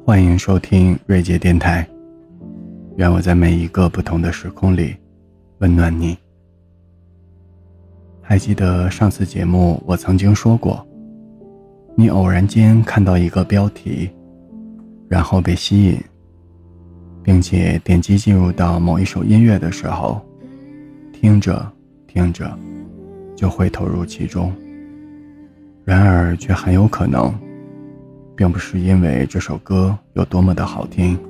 欢迎收听瑞杰电台，愿我在每一个不同的时空里温暖你。还记得上次节目我曾经说过，你偶然间看到一个标题，然后被吸引，并且点击进入到某一首音乐的时候，听着听着就会投入其中。然而却很有可能并不是因为这首歌有多么的好听。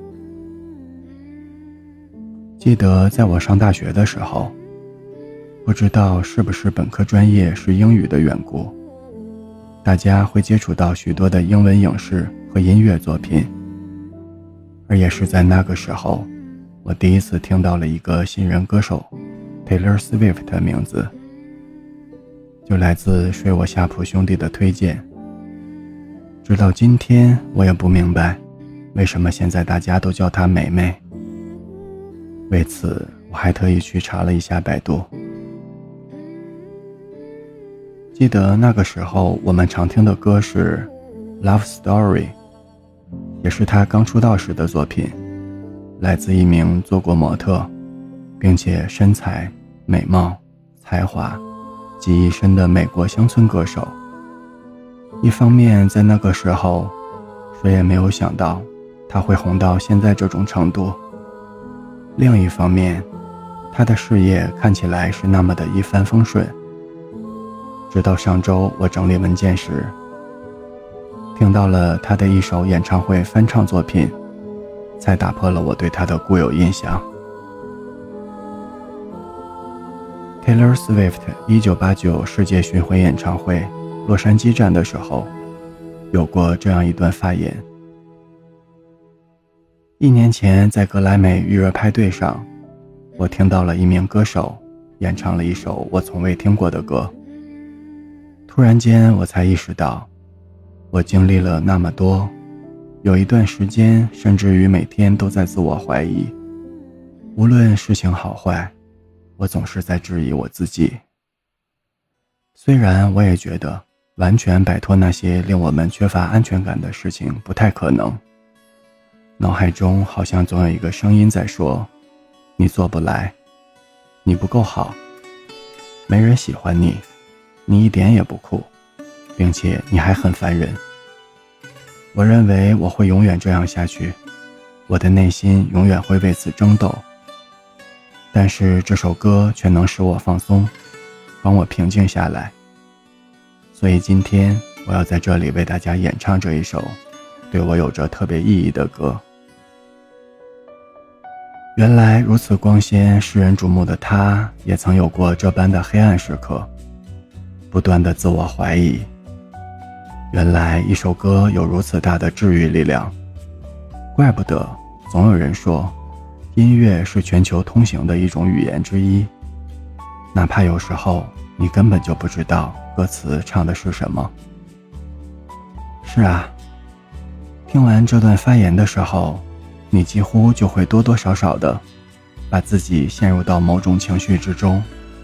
记得在我上大学的时候，不知道是不是本科专业是英语的缘故，大家会接触到许多的英文影视和音乐作品。而也是在那个时候，我第一次听到了一个新人歌手 Taylor Swift 的名字，就来自睡我夏普兄弟的推荐。直到今天我也不明白为什么现在大家都叫她美美，为此我还特意去查了一下百度。记得那个时候我们常听的歌是 Love Story， 也是她刚出道时的作品，来自一名做过模特并且身材美貌才华集一身的美国乡村歌手。一方面在那个时候谁也没有想到他会红到现在这种程度，另一方面他的事业看起来是那么的一帆风顺。直到上周我整理文件时，听到了他的一首演唱会翻唱作品，才打破了我对他的固有印象。Taylor Swift 1989世界巡回演唱会洛杉矶站的时候，有过这样一段发言。1年前在格莱美预热派对上，我听到了一名歌手演唱了一首我从未听过的歌。突然间我才意识到，我经历了那么多，有一段时间甚至于每天都在自我怀疑，无论事情好坏，我总是在质疑我自己。虽然我也觉得完全摆脱那些令我们缺乏安全感的事情不太可能，脑海中好像总有一个声音在说，你做不来，你不够好，没人喜欢你，你一点也不酷，并且你还很烦人。我认为我会永远这样下去，我的内心永远会为此争斗。但是这首歌却能使我放松，帮我平静下来。所以今天我要在这里为大家演唱这一首对我有着特别意义的歌。原来如此光鲜世人瞩目的他，也曾有过这般的黑暗时刻，不断的自我怀疑。原来一首歌有如此大的治愈力量，怪不得总有人说音乐是全球通行的一种语言之一，哪怕有时候你根本就不知道歌词唱的是什么。是啊，听完这段发言的时候，你几乎就会多多少少的把自己陷入到某种情绪之中。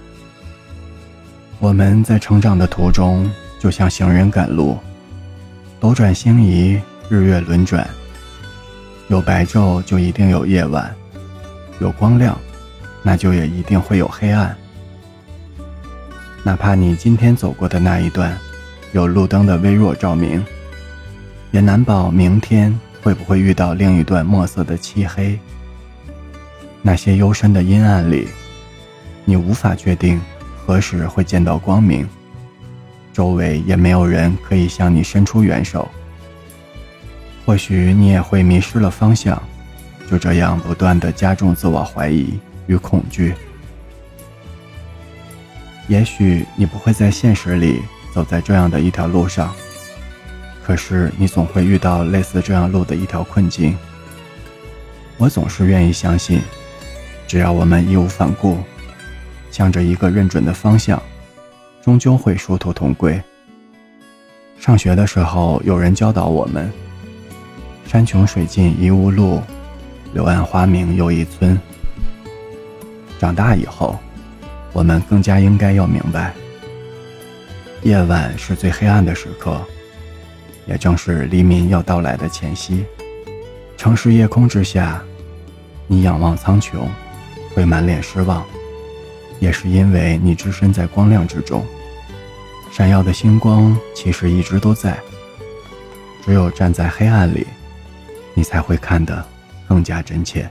我们在成长的途中就像行人赶路，斗转星移，日月轮转，有白昼就一定有夜晚，有光亮那就也一定会有黑暗。哪怕你今天走过的那一段有路灯的微弱照明，也难保明天会不会遇到另一段墨色的漆黑。那些幽深的阴暗里，你无法确定何时会见到光明，周围也没有人可以向你伸出援手。或许你也会迷失了方向，就这样不断地加重自我怀疑与恐惧。也许你不会在现实里走在这样的一条路上，可是你总会遇到类似这样路的一条困境。我总是愿意相信，只要我们义无反顾，向着一个认准的方向，终究会殊途同归。上学的时候有人教导我们，山穷水尽疑无路，柳暗花明又一村。长大以后，我们更加应该要明白，夜晚是最黑暗的时刻，也正是黎明要到来的前夕。 城市夜空之下，你仰望苍穹，会满脸失望，也是因为你置身在光亮之中。闪耀的星光其实一直都在，只有站在黑暗里，你才会看得更加真切。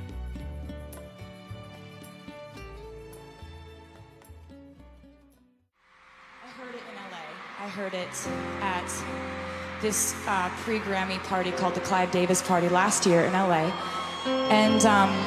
I heard it at this pre-Grammy party called the Clive Davis Party last year in LA. And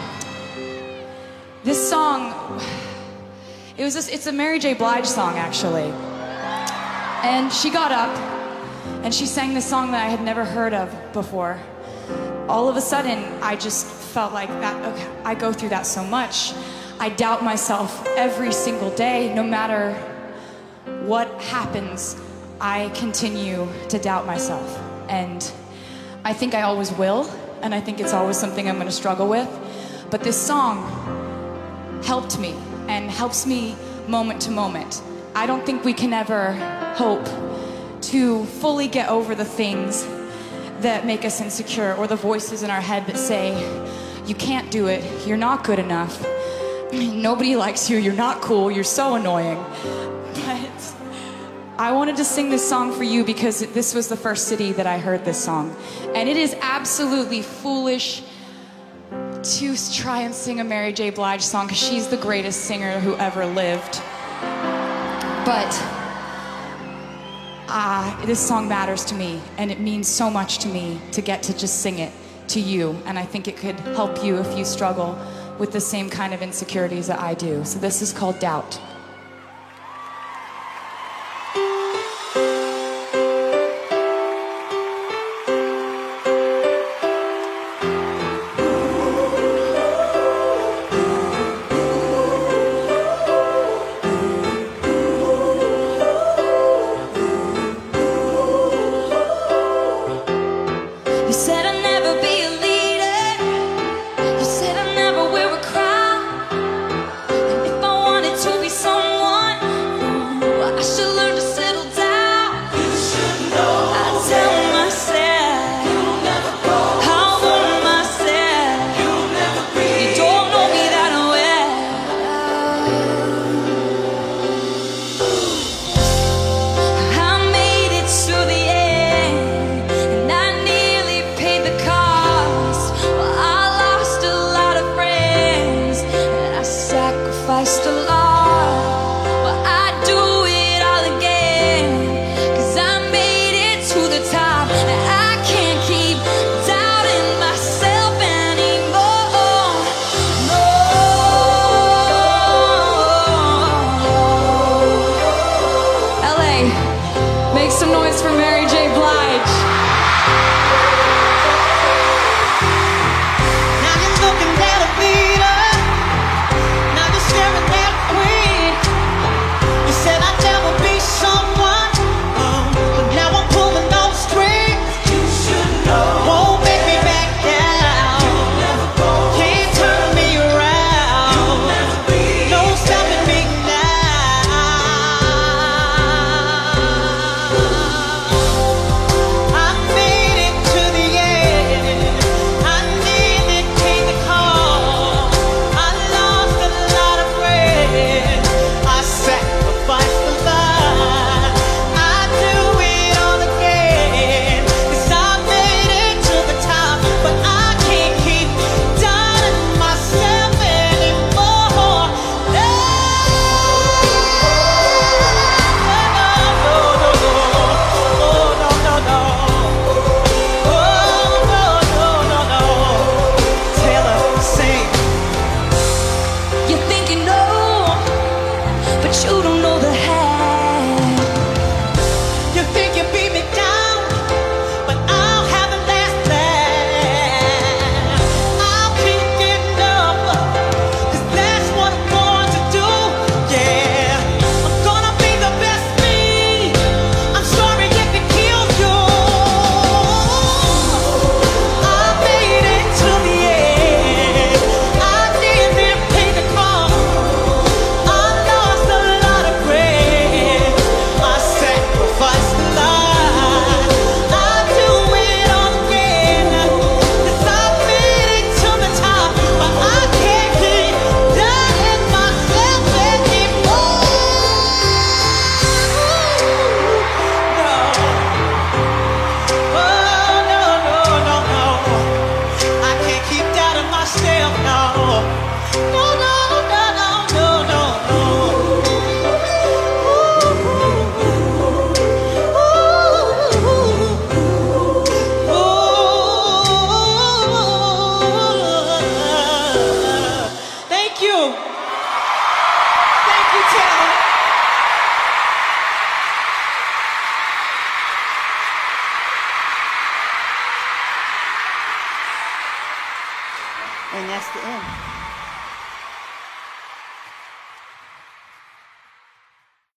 this song, it's a Mary J. Blige song actually. And she got up and she sang this song that I had never heard of before. All of a sudden, I just felt like that, okay, I go through that so much. I doubt myself every single day, no matter what happens. I continue to doubt myself, and I think I always will, and I think it's always something I'm going to struggle with, but this song helped me and helps me moment to moment. I don't think we can ever hope to fully get over the things that make us insecure, or the voices in our head that say, you can't do it, you're not good enough, nobody likes you, you're not cool, you're so annoying. But I wanted to sing this song for you because this was the first city that I heard this song. And it is absolutely foolish to try and sing a Mary J. Blige song because she's the greatest singer who ever lived. But this song matters to me, and it means so much to me to get to just sing it to you. And I think it could help you if you struggle with the same kind of insecurities that I do. So this is called Doubt.